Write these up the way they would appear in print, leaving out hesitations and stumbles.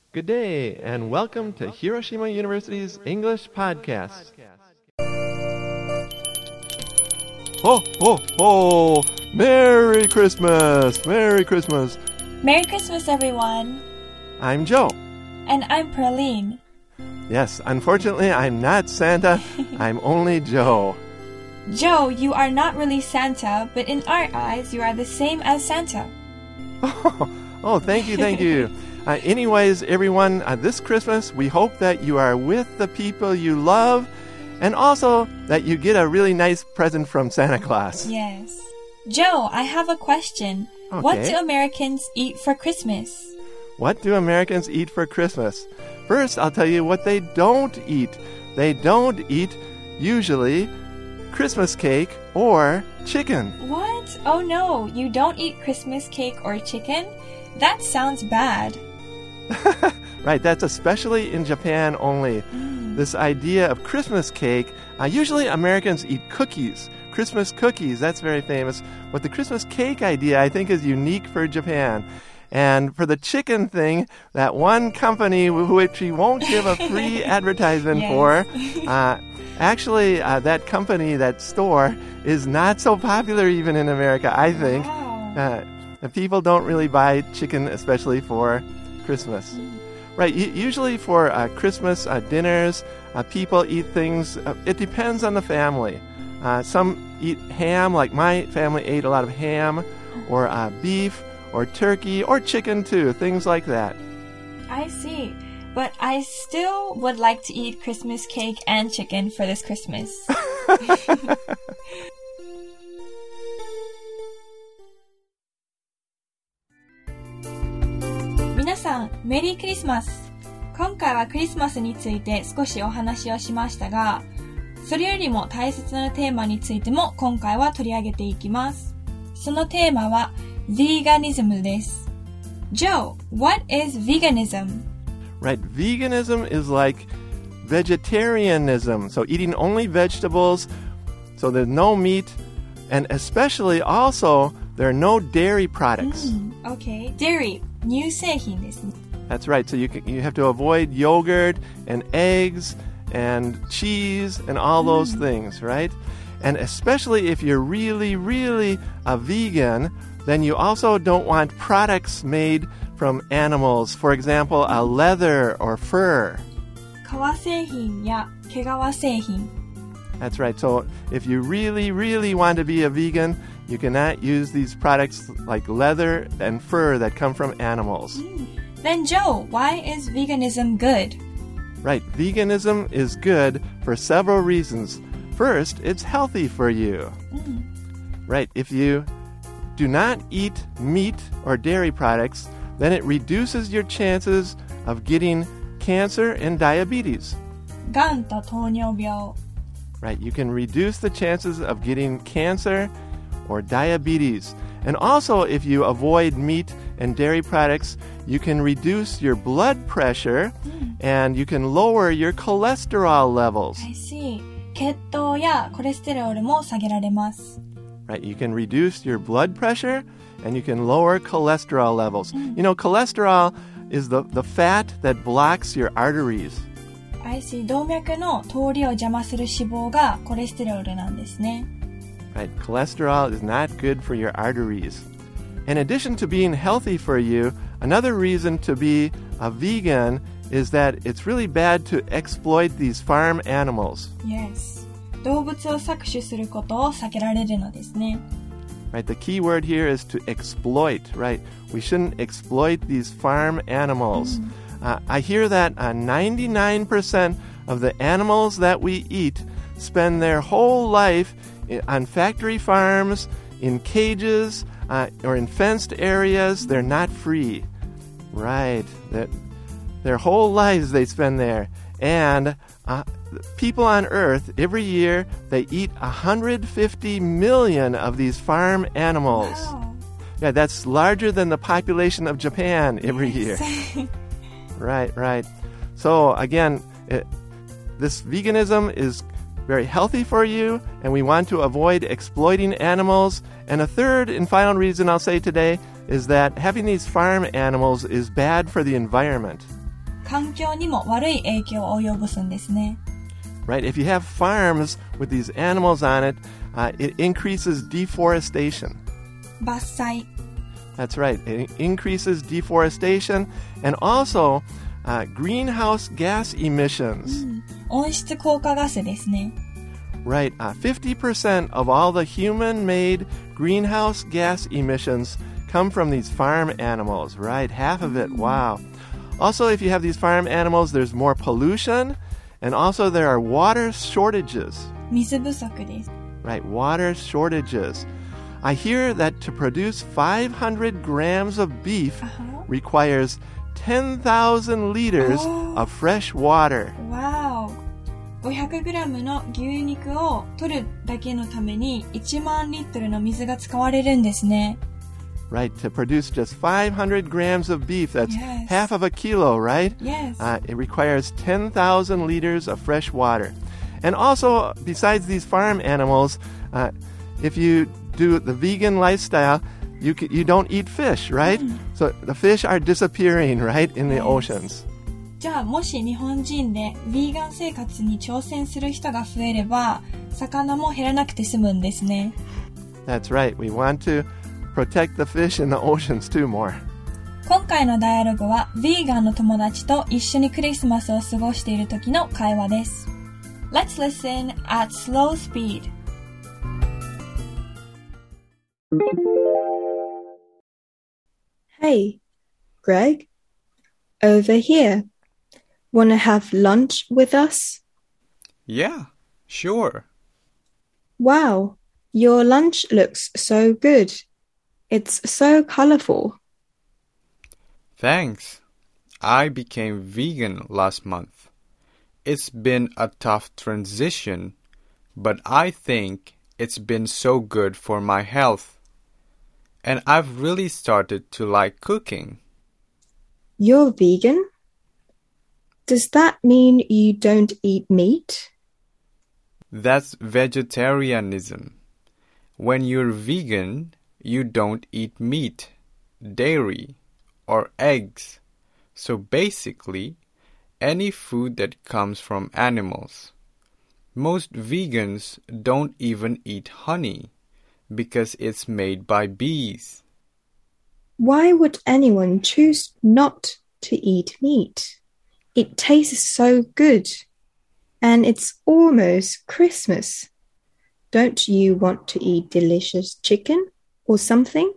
Good day, and welcome to Hiroshima University's English Podcast. Ho, ho, ho! Merry Christmas! Merry Christmas! Merry Christmas, everyone! I'm Joe. And I'm Praline. Yes, unfortunately, I'm not Santa. I'm only Joe. Joe, you are not really Santa, but in our eyes, you are the same as Santa. Oh, thank you, thank you. Anyways, everyone, this Christmas, we hope that you are with the people you love and also that you get a really nice present from Santa Claus. Yes. Joe, I have a question. Okay. What do Americans eat for Christmas? What do Americans eat for Christmas? First, I'll tell you what they don't eat. They don't eat, usually, Christmas cake or chicken. What? Oh no, you don't eat Christmas cake or chicken? That sounds bad. Right, that's especially in Japan only. This idea of Christmas cake, usually Americans eat cookies. Christmas cookies, that's very famous. But the Christmas cake idea, I think, is unique for Japan. And for the chicken thing, that one company which we won't give a free advertisement for, actually, that company, that store, is not so popular even in America, I think. Wow. People don't really buy chicken, especially for Christmas. Right, usually for Christmas dinners, people eat things, it depends on the family. Some eat ham, like my family ate a lot of ham, or beef, or turkey, or chicken too, things like that. I see. But I still would like to eat Christmas cake and chicken for this Christmas. 皆さん、メリークリスマス。今回はクリスマスについて少しお話をしましたが、それよりも大切なテーマについても今回は取り上げていきます。そのテーマはVeganism です。Joe, what is veganism? Right, veganism is like vegetarianism, so eating only vegetables, so there's no meat, and especially also there are no dairy products. Okay, dairy, 乳製品ですね。 That's right, so you have to avoid yogurt and eggs and cheese and all those things, right? And especially if you're really, really a vegan, then you also don't want products made from animals. For example, leather or fur. 革製品や毛皮製品。 That's right. So if you really, really want to be a vegan, you cannot use these products like leather and fur that come from animals. Then Joe, why is veganism good? Right. Veganism is good for several reasons. First, it's healthy for you. Right. If you do not eat meat or dairy products, then it reduces your chances of getting cancer and diabetes. がんと糖尿病。 Right, you can reduce the chances of getting cancer or diabetes. And also, if you avoid meat and dairy products, you can reduce your blood pressure and you can lower your cholesterol levels. I see. 血糖やコレステロールも下げられます。 Right, you can reduce your blood pressure and you can lower cholesterol levels. You know, cholesterol is the fat that blocks your arteries. I see. 動脈の通りを邪魔する脂肪がコレステロールなんですね。 Right, cholesterol is not good for your arteries. In addition to being healthy for you, another reason to be a vegan is that it's really bad to exploit these farm animals. Yes. 動物を搾取することを避けられるのですね。 Right, the key word here is to exploit, right? We shouldn't exploit these farm animals. I hear that 99% of the animals that we eat spend their whole life on factory farms, in cages, or in fenced areas. They're not free. Right. Their whole lives they spend there. And people on Earth, every year, they eat 150 million of these farm animals. Wow. Yeah, that's larger than the population of Japan every year. Right. So, again, this veganism is very healthy for you, and we want to avoid exploiting animals. And a third and final reason I'll say today is that having these farm animals is bad for the environment. 環境にも悪い影響を及ぼすんですね。 Right? If you have farms with these animals on it, it increases deforestation. 伐採。 That's right. It increases deforestation and also greenhouse gas emissions. 温室効果ガスですね。 Right. 50% of all the human-made greenhouse gas emissions come from these farm animals, right? Half of it. Wow. Also, if you have these farm animals, there's more pollution, and also there are water shortages. 水不足です。 Right, water shortages. I hear that to produce 500 grams of beef requires 10,000 liters of fresh water. Wow. 500g の牛肉を取るだけのために1万リットルの水が使われるんですね。 Right, to produce just 500 grams of beef, that's half of a kilo, right? Yes. It requires 10,000 liters of fresh water. And also, besides these farm animals, if you do the vegan lifestyle, you don't eat fish, right? So the fish are disappearing, right, in the oceans. じゃあもし日本人でヴィーガン生活に挑戦する人が増えれば、魚も減らなくて済むんですね。 That's right. We want to protect the fish in the oceans too more. 今回のダイアログはヴィーガンの友達と一緒にクリスマスを過ごしている時の会話です。Let's listen at slow speed. Hey, Greg. Over here. Wanna have lunch with us? Yeah, sure. Wow, your lunch looks so good. It's so colorful. Thanks. I became vegan last month. It's been a tough transition, but I think it's been so good for my health. And I've really started to like cooking. You're vegan? Does that mean you don't eat meat? That's vegetarianism. When you're vegan, you don't eat meat, dairy, or eggs. So basically, any food that comes from animals. Most vegans don't even eat honey because it's made by bees. Why would anyone choose not to eat meat? It tastes so good. And it's almost Christmas. Don't you want to eat delicious chicken or something?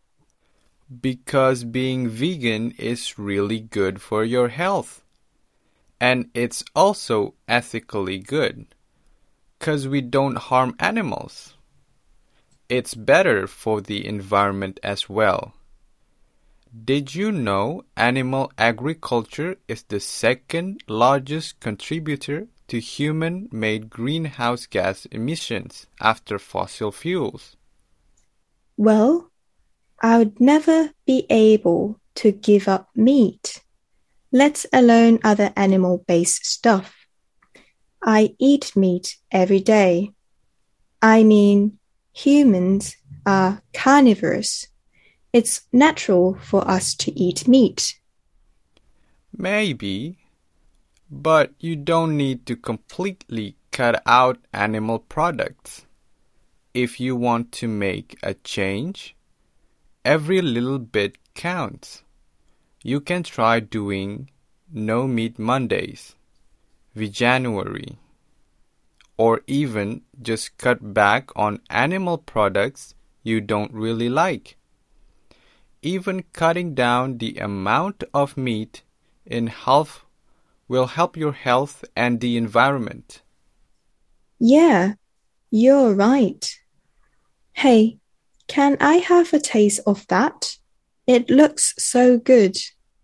Because being vegan is really good for your health. And it's also ethically good. 'Cause we don't harm animals. It's better for the environment as well. Did you know animal agriculture is the second largest contributor to human-made greenhouse gas emissions after fossil fuels? Well, I would never be able to give up meat, let alone other animal-based stuff. I eat meat every day. I mean, humans are carnivores. It's natural for us to eat meat. Maybe, but you don't need to completely cut out animal products. If you want to make a change, every little bit counts. You can try doing No Meat Mondays, Veganuary, or even just cut back on animal products you don't really like. Even cutting down the amount of meat in half will help your health and the environment. Yeah, you're right. Hey, can I have a taste of that? It looks so good.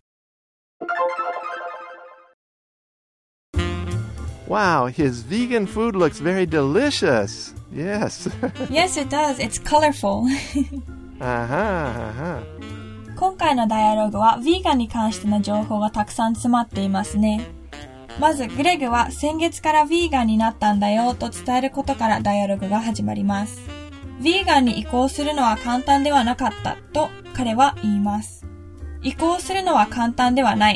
Wow, his vegan food looks very delicious. Yes. Yes, it does. It's colorful. 今回のダイアログはヴィーガンに関しての情報がたくさん詰まっていますね。まずグレグは先月からヴィーガンになったんだよと伝えることからダイアログが始まります。ヴィーガンに移行するのは簡単ではなかったと彼は言います。移行するのは簡単ではないと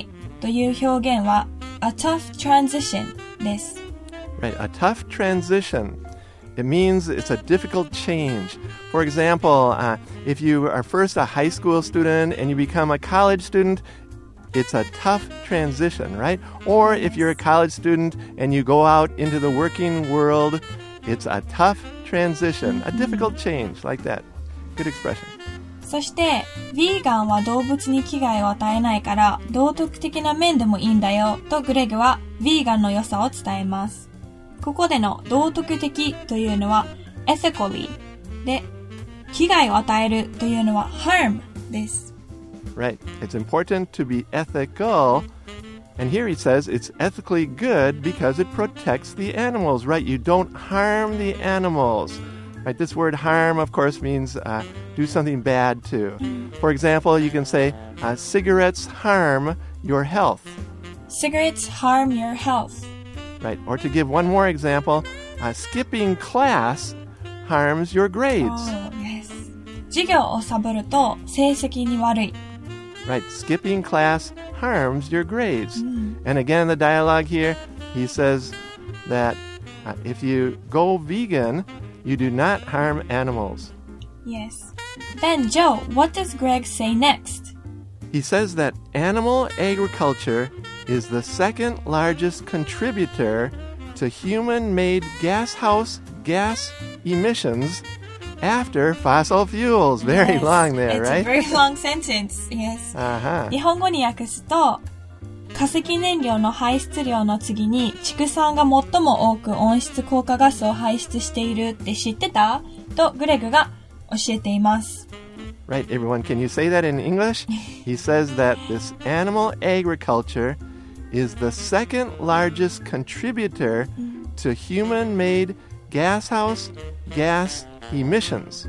という表現は a tough transition です。 Right, a tough transition. It means it's a difficult change. For example, if you are first a high school student and you become a college student, it's a tough transition, right? Or if you're a college student and you go out into the working world, it's a tough transition, a difficult change, like that. Good expression. そして、ヴィーガンは動物に危害を与えないから、道徳的な面でもいいんだよ、とグレグはヴィーガンの良さを伝えます。ここでの道徳的というのは ethically で、危害を与えるというのは harm です。 Right. It's important to be ethical. And here he says it's ethically good because it protects the animals, right? You don't harm the animals. Right? This word harm, of course, means do something bad to. For example, you can say cigarettes harm your health. Cigarettes harm your health. Right. Or to give one more example, skipping class harms your grades. Oh, yes. 授業をサボると成績に悪い。 Right. Skipping class harms your grades. And again, the dialogue here, he says that if you go vegan, you do not harm animals. Yes. Then, Joe, what does Greg say next? He says that animal agriculture is the second largest contributor to human-made gashouse gas emissions after fossil fuels. Very long there, It's right? a very long sentence. Yes. 日本語に訳すと、化石燃料の排出量の次に畜産が最も多く温室効果ガスを排出しているって知ってた？とグレグが教えています。 Right, everyone, can you say that in English? He says that this animal agriculture is the second largest contributor to human-made gashouse gas emissions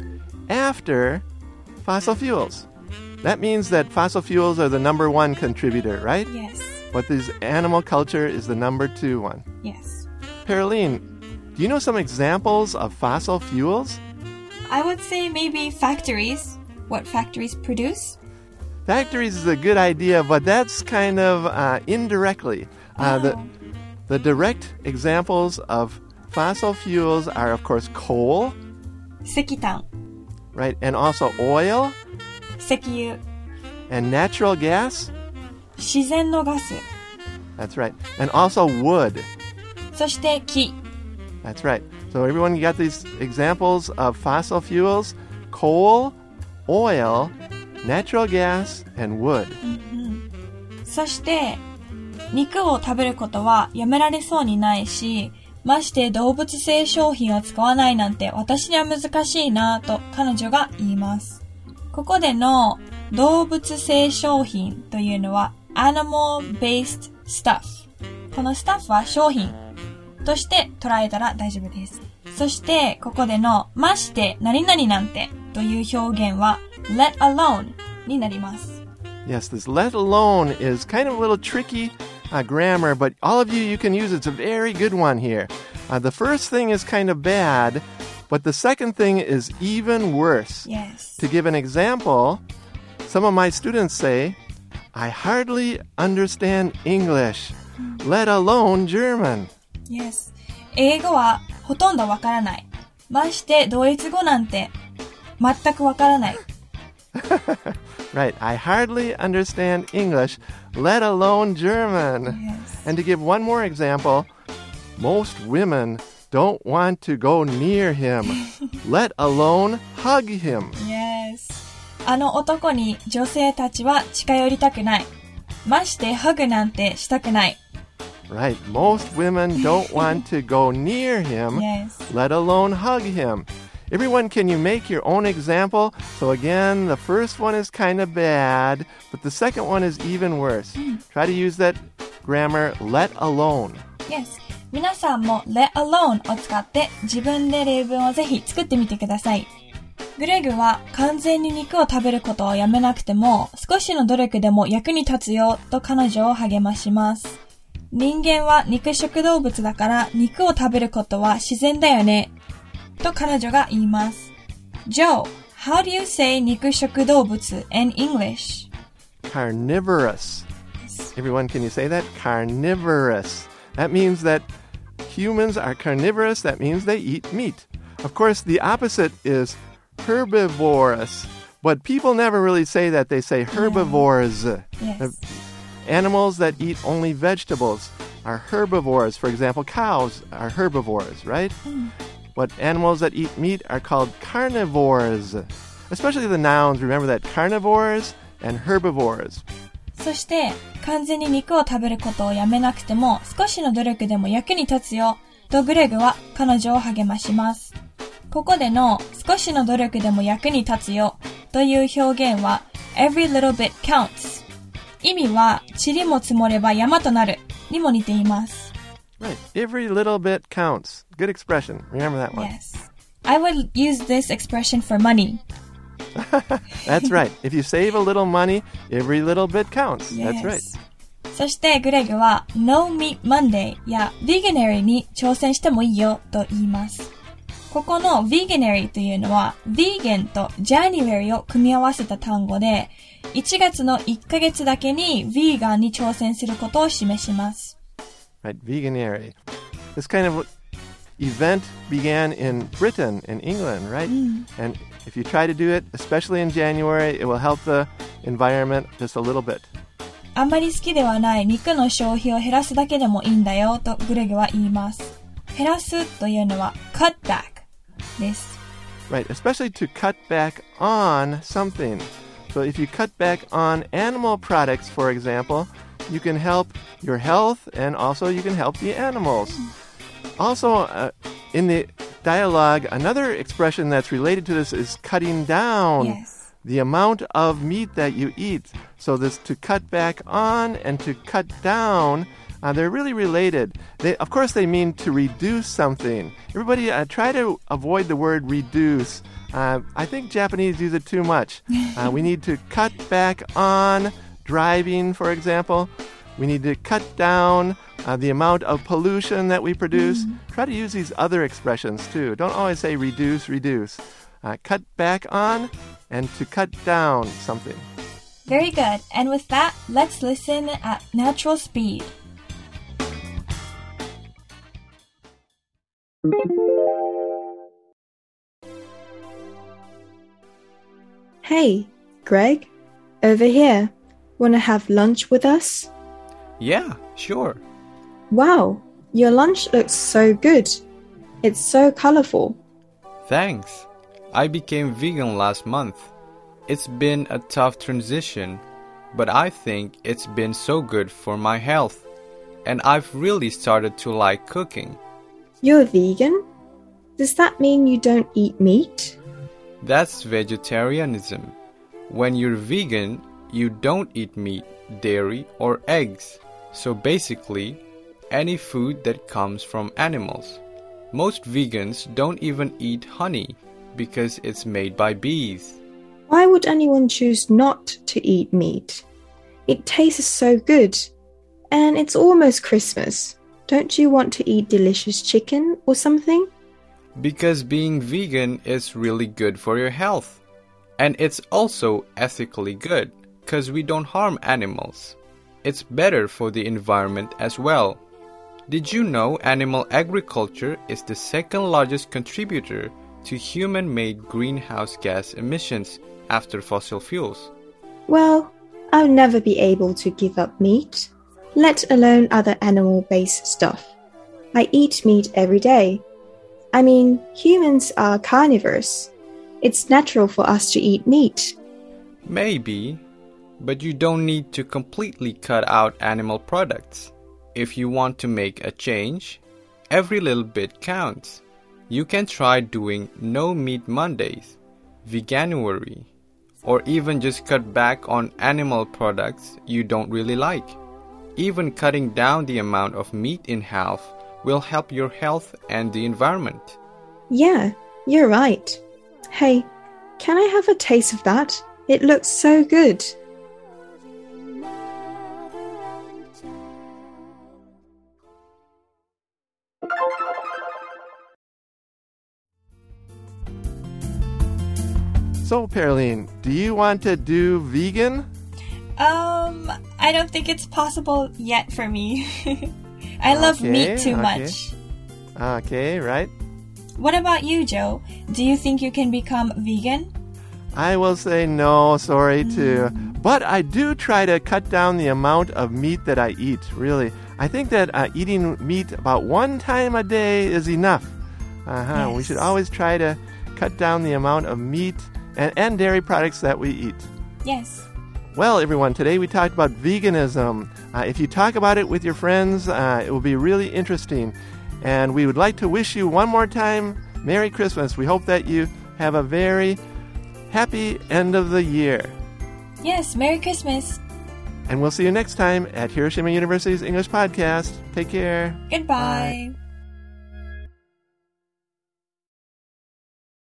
after fossil fuels. That means that fossil fuels are the number one contributor, right? Yes. But this animal culture is the number two one. Yes. Pearline, do you know some examples of fossil fuels? I would say maybe factories. What factories produce? Factories is a good idea, but that's kind of indirectly. The direct examples of fossil fuels are, of course, coal. 石炭。 Right, and also oil. 石油。 And natural gas. 自然のガス。 That's right. And also wood. そして木。 That's right. So everyone, you got these examples of fossil fuels: coal, oil, natural gas, and wood. そして、肉を食べることはやめられそうにないし、まして動物性商品を使わないなんて私には難しいなと彼女が言います。ここでの動物性商品というのは animal-based stuff。この stuff は商品として捉えたら大丈夫です。そしてここでのまして何々なんてという表現は let alone になります。 Yes, this let alone is kind of a little tricky grammar, but all of you can use it. It's a very good one here. The first thing is kind of bad, but the second thing is even worse. Yes. To give an example, some of my students say, I hardly understand English, let alone German. Yes. 英語はほとんどわからない。ましてドイツ語なんて全くわからない。 Right. I hardly understand English, let alone German. Yes. And to give one more example, most women don't want to go near him, let alone hug him. Yes. あの男に女性たちは近寄りたくない。ましてハグなんてしたくない。 Right. Most women don't want to go near him, Yes. let alone hug him. Everyone, can you make your own example? So again, the first one is kind of bad, but the second one is even worse. Try to use that grammar, let alone. Yes. 皆さんも let alone を使って自分で例文をぜひ作ってみてください。グレグは完全に肉を食べることをやめなくても少しの努力でも役に立つよと彼女を励まします。人間は肉食動物だから肉を食べることは自然だよね。と彼女が言います。Joe, how do you say 肉食動物 in English? Carnivorous. Yes. Everyone, can you say that? Carnivorous. That means that humans are carnivorous. That means they eat meat. Of course, the opposite is herbivorous. But people never really say that. They say herbivores. Yes. Animals that eat only vegetables are herbivores. For example, cows are herbivores, right? But animals that eat meat are called carnivores. Especially the nouns. Remember that, carnivores and herbivores. そして完全に肉を食べることをやめなくても少しの努力でも役に立つよとグレグは彼女を励まします。ここでの少しの努力でも役に立つよという表現は every little bit counts。意味は塵も積もれば山となるにも似ています。 Right. Every little bit counts. Good expression. Remember that one. Yes. I would use this expression for money. That's right. If you save a little money, every little bit counts. Yes. That's right. そしてグレグは No Meat Monday や Veganuary に挑戦してもいいよと言います。ここの Veganuary というのは Vegan と January を組み合わせた単語で1月の1ヶ月だけに Vegan に挑戦することを示します。 Right, Veganuary. This kind of event began in Britain, in England, right? And if you try to do it, especially in January, it will help the environment just a little bit. あんまり好きではない肉の消費を減らすだけでもいいんだよとグレグは言います。減らすというのは cut back です。 Right, especially to cut back on something. So if you cut back on animal products, for example, you can help your health and also you can help the animals. Also, in the dialogue, another expression that's related to this is cutting down. Yes. The amount of meat that you eat. So this to cut back on and to cut down, they're really related. Of course, they mean to reduce something. Everybody try to avoid the word reduce. I think Japanese use it too much. We need to cut back on driving, for example. We need to cut down the amount of pollution that we produce. Try to use these other expressions too. Don't always say reduce, reduce. Cut back on and to cut down something. Very good. And with that, let's listen at natural speed. Hey, Greg, over here. Wanna have lunch with us? Yeah, sure. Wow, your lunch looks so good. It's so colorful. Thanks. I became vegan last month. It's been a tough transition, but I think it's been so good for my health. And I've really started to like cooking. You're vegan? Does that mean you don't eat meat? That's vegetarianism. When you're vegan, you don't eat meat, dairy, or eggs. So basically, any food that comes from animals. Most vegans don't even eat honey because it's made by bees. Why would anyone choose not to eat meat? It tastes so good. And it's almost Christmas. Don't you want to eat delicious chicken or something? Because being vegan is really good for your health. And it's also ethically good because we don't harm animals. It's better for the environment as well. Did you know animal agriculture is the second largest contributor to human-made greenhouse gas emissions after fossil fuels? Well, I'll never be able to give up meat, let alone other animal-based stuff. I eat meat every day. I mean, humans are carnivores. It's natural for us to eat meat. Maybe, but you don't need to completely cut out animal products. If you want to make a change, every little bit counts. You can try doing No Meat Mondays, Veganuary, or even just cut back on animal products you don't really like. Even cutting down the amount of meat in half will help your health and the environment. Yeah, you're right. Hey, can I have a taste of that? It looks so good. So, Pearline, do you want to do vegan? I I don't think it's possible yet for me. I love meat too much. Okay, right. What about you, Joe? Do you think you can become vegan? I will say no, sorry too. But I do try to cut down the amount of meat that I eat, really. I think that eating meat about 1 time a day is enough. Yes. We should always try to cut down the amount of meat and dairy products that we eat. Yes. Well, everyone, today we talked about veganism. If you talk about it with your friends, it will be really interesting. And we would like to wish you one more time Merry Christmas. We hope that you have a very happy end of the year. Yes, Merry Christmas. And we'll see you next time at Hiroshima University's English Podcast. Take care. Goodbye. Bye.